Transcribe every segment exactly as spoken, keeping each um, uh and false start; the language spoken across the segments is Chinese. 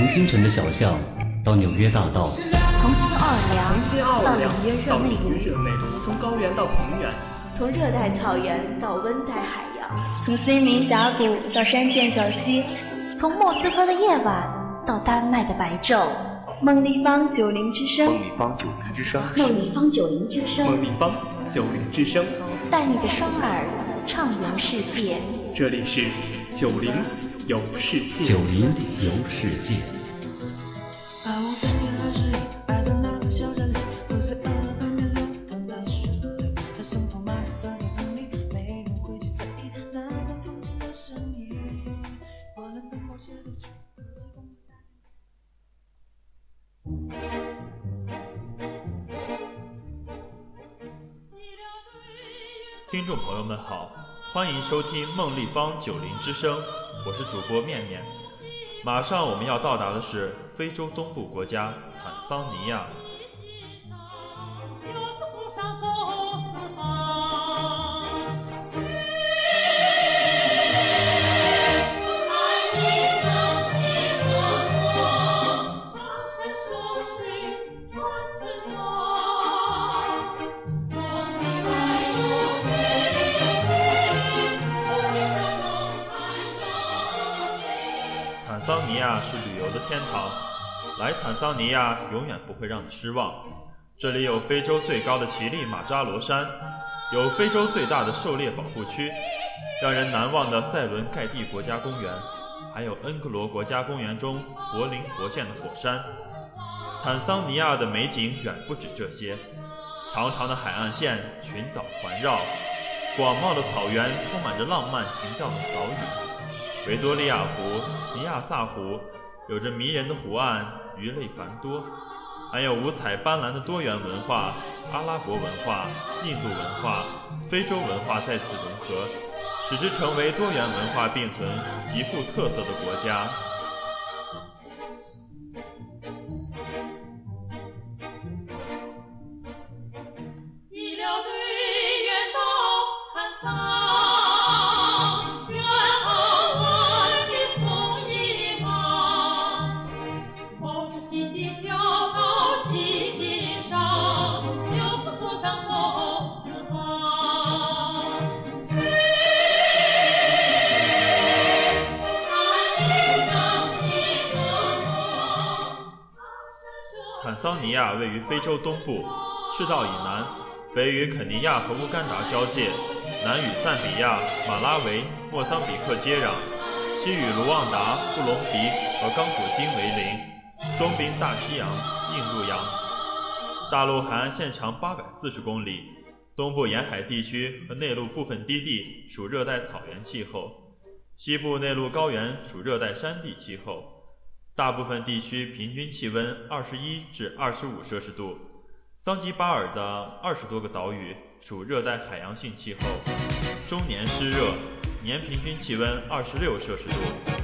从新城的小巷到纽约大道， 从新奥尔良从新奥尔良到里约热内卢，从高原到平原， 从热带草原到温带海洋， 从森林峡谷到山涧小溪， 从莫斯科的夜晚到丹麦的白昼。 梦立方九零之声， 梦立方九零之声， 梦立方九零之声， 梦立方九零之声， 带你的双耳畅游世界。 这里是九零游世界， 九零游世界。 听众朋友们好，欢迎收听梦立方九零之声，我是主播面面。马上我们要到达的是非洲东部国家坦桑尼亚。坦桑尼亚是旅游的天堂，来坦桑尼亚永远不会让你失望。这里有非洲最高的乞力马扎罗山，有非洲最大的狩猎保护区，让人难忘的塞伦盖蒂国家公园，还有恩格罗国家公园中柏林活现的火山。坦桑尼亚的美景远不止这些，长长的海岸线，群岛环绕，广袤的草原充满着浪漫情调的岛屿。维多利亚湖、尼亚萨湖有着迷人的湖岸，鱼类繁多，还有五彩斑斓的多元文化，阿拉伯文化、印度文化、非洲文化在此融合，使之成为多元文化并存、极富特色的国家。坦桑尼亚位于非洲东部，赤道以南，北与肯尼亚和乌干达交界，南与赞比亚、马拉维、莫桑比克接壤，西与卢旺达、布隆迪和刚果金为邻，东濒大西洋、印度洋。大陆海岸线长八百四十公里，东部沿海地区和内陆部分低地属热带草原气候，西部内陆高原属热带山地气候。大部分地区平均气温二十一至二十五摄氏度，桑吉巴尔的二十多个岛屿属热带海洋性气候，终年湿热，年平均气温二十六摄氏度。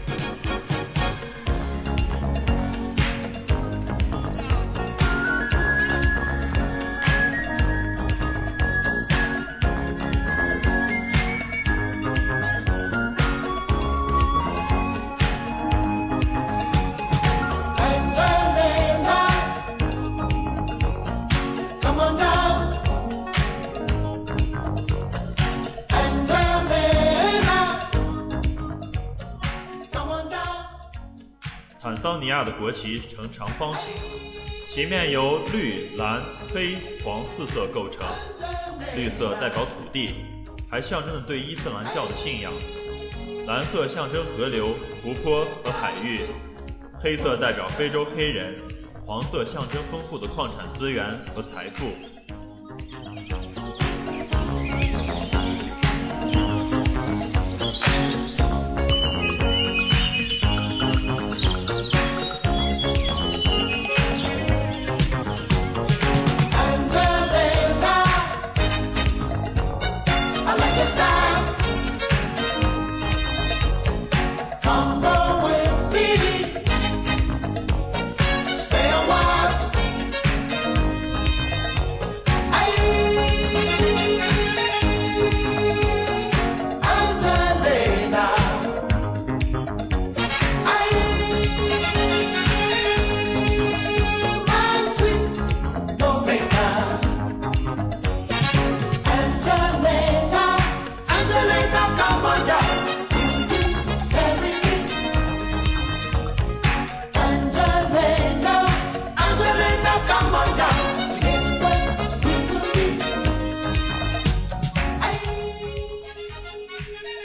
坦桑尼亚的国旗呈长方形，旗面由绿、蓝、黑、黄四色构成，绿色代表土地，还象征着对伊斯兰教的信仰；蓝色象征河流、湖泊和海域，黑色代表非洲黑人，黄色象征丰富的矿产资源和财富。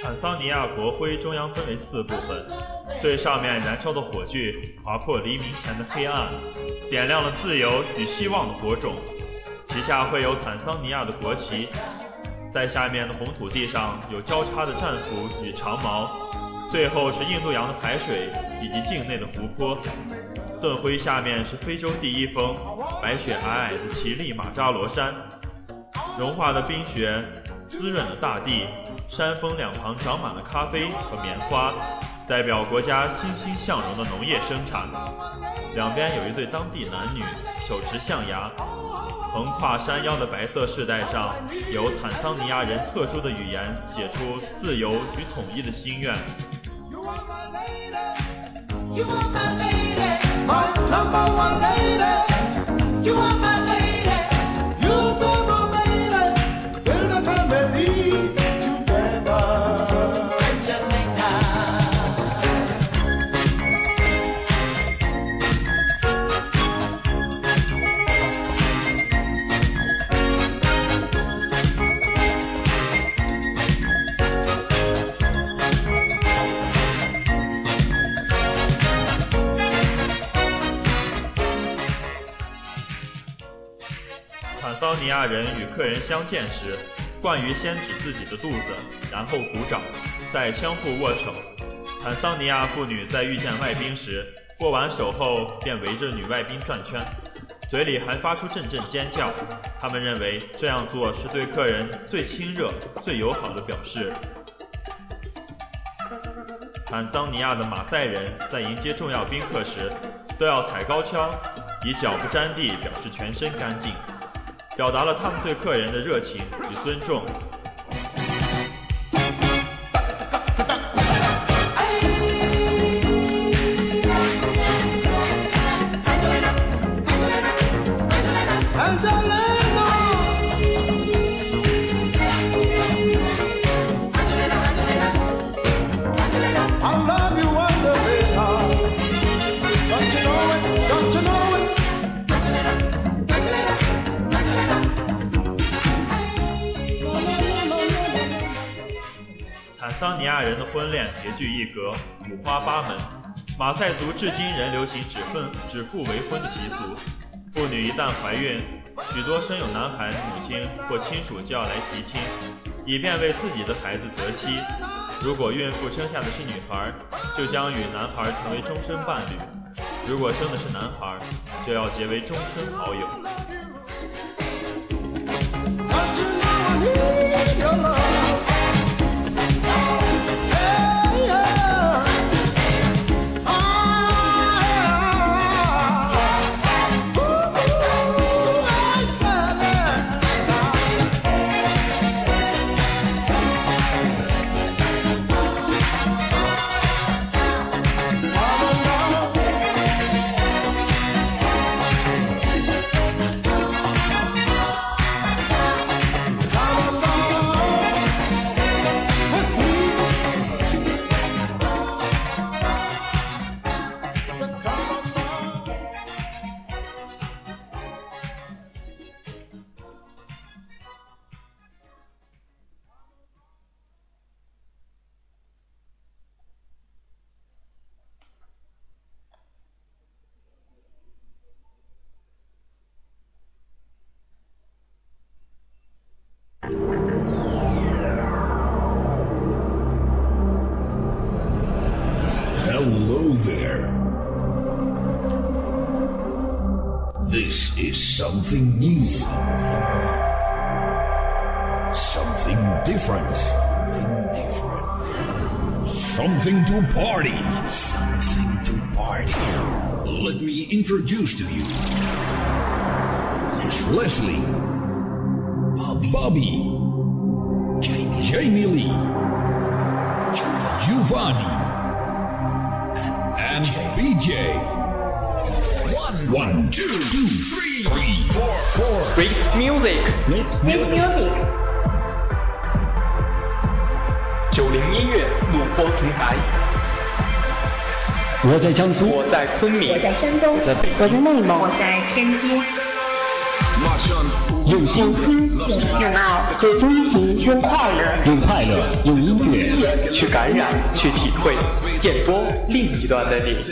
坦桑尼亚国徽中央分为四部分，最上面燃烧的火炬划破黎明前的黑暗，点亮了自由与希望的火种。其下会有坦桑尼亚的国旗，在下面的红土地上有交叉的战斧与长矛，最后是印度洋的海水以及境内的湖泊。盾徽下面是非洲第一峰白雪皑皑的奇力马扎罗山，融化的冰雪滋润了大地，山峰两旁长满了咖啡和棉花，代表国家欣欣向荣的农业生产。两边有一对当地男女手持象牙，横跨山腰的白色饰带上有坦桑尼亚人特殊的语言写出自由与统一的心愿。坦桑尼亚人与客人相见时，惯于先指自己的肚子，然后鼓掌，再相互握手。坦桑尼亚妇女在遇见外宾时，握完手后便围着女外宾转圈，嘴里还发出阵阵尖叫。他们认为这样做是对客人最亲热、最友好的表示。坦桑尼亚的马赛人在迎接重要宾客时，都要踩高跷，以脚不沾地表示全身干净，表达了他们对客人的热情与尊重。坦桑尼亚人的婚恋别具一格，五花八门。马赛族至今仍流行指分指腹为婚的习俗，妇女一旦怀孕，许多生有男孩的母亲或亲属就要来提亲，以便为自己的孩子择妻。如果孕妇生下的是女孩，就将与男孩成为终身伴侣；如果生的是男孩，就要结为终身好友。 Hello there. This is something new. Something different. Something different. Something to party. Something to party. Let me introduce to you. Miss Leslie. Bobby. Bobby. Jamie. Jamie Lee. Giovanni. Giovanni. And B J. One, one, two, two, three, three, four, four. Freaks Music. Freaks Music。 九零音乐录播平台。 我在江苏， 我在昆明， 我在山东， 我在北京， 我在内蒙，我在天津。 用心用心，用爱，最真情。 用快乐， 用快乐，用音乐去感染，去体会，电波另一端的你。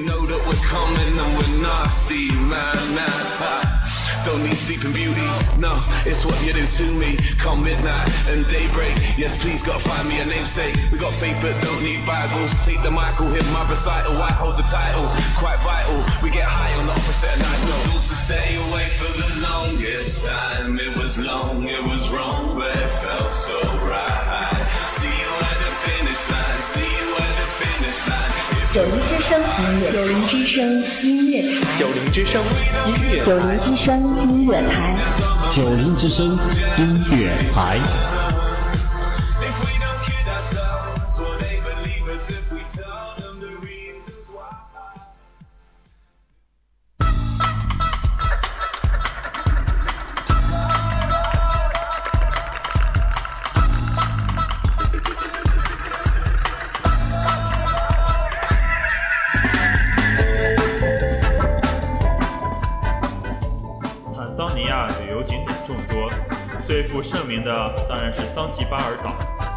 Don't need sleeping beauty, no, it's what you do to me. Come midnight and daybreak, yes please gotta find me a namesake. We got faith but don't need Bibles. Take the mic, hear my recital, I hold the title. Quite vital, we get high on the opposite of night. No, to stay awake for the longest time. It was long, it was wrong, but it felt so right. See you at the finish line, see you at the finish line. 九零之声音乐，九零之声音乐台， 九零之声音乐， 九零之声音乐台， 九零之声音乐台。 最负盛名的当然是桑吉巴尔岛。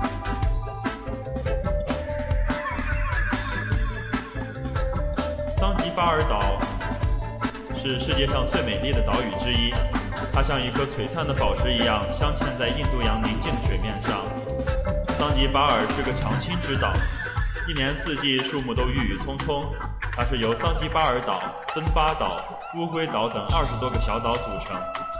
桑吉巴尔岛是世界上最美丽的岛屿之一，它像一颗璀璨的宝石一样镶嵌在印度洋宁静水面上。桑吉巴尔是个常青之岛，一年四季树木都郁郁葱葱。它是由桑吉巴尔岛、登巴岛、乌龟岛等二十多个小岛组成。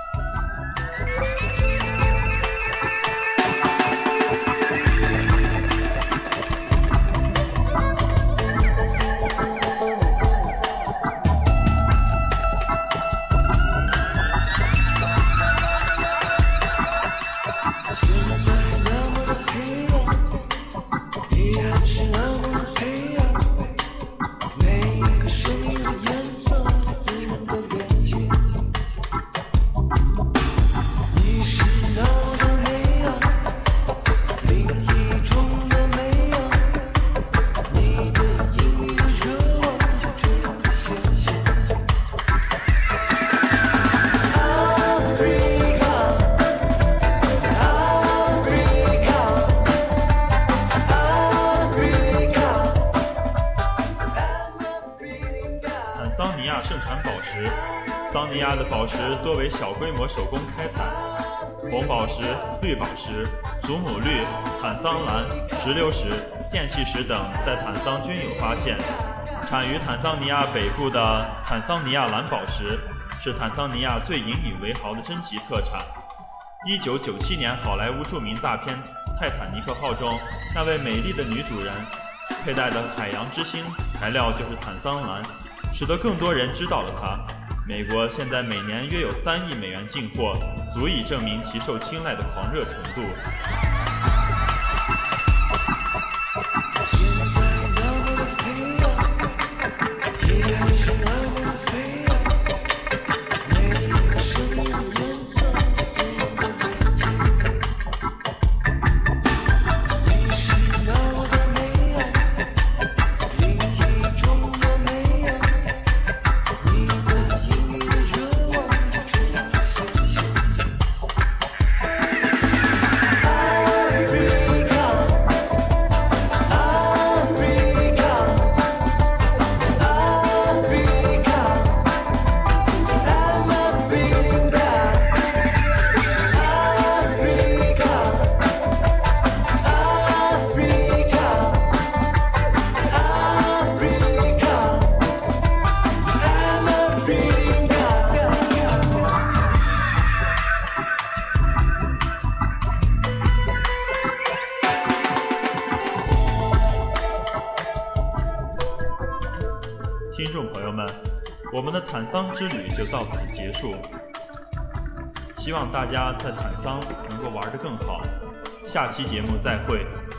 桑尼亚的宝石多为小规模手工开采，红宝石、绿宝石、祖母绿、坦桑蓝、石榴石、电气石等在坦桑均有发现。产于坦桑尼亚北部的坦桑尼亚蓝宝石是坦桑尼亚最引以为豪的珍奇特产。一九九七年好莱坞著名大片《泰坦尼克号》中，那位美丽的女主人佩戴的海洋之星材料就是坦桑蓝，使得更多人知道了它。美国现在每年约有三亿美元进货，足以证明其受青睐的狂热程度。听众朋友们，我们的坦桑之旅就到此结束，希望大家在坦桑能够玩得更好，下期节目再会。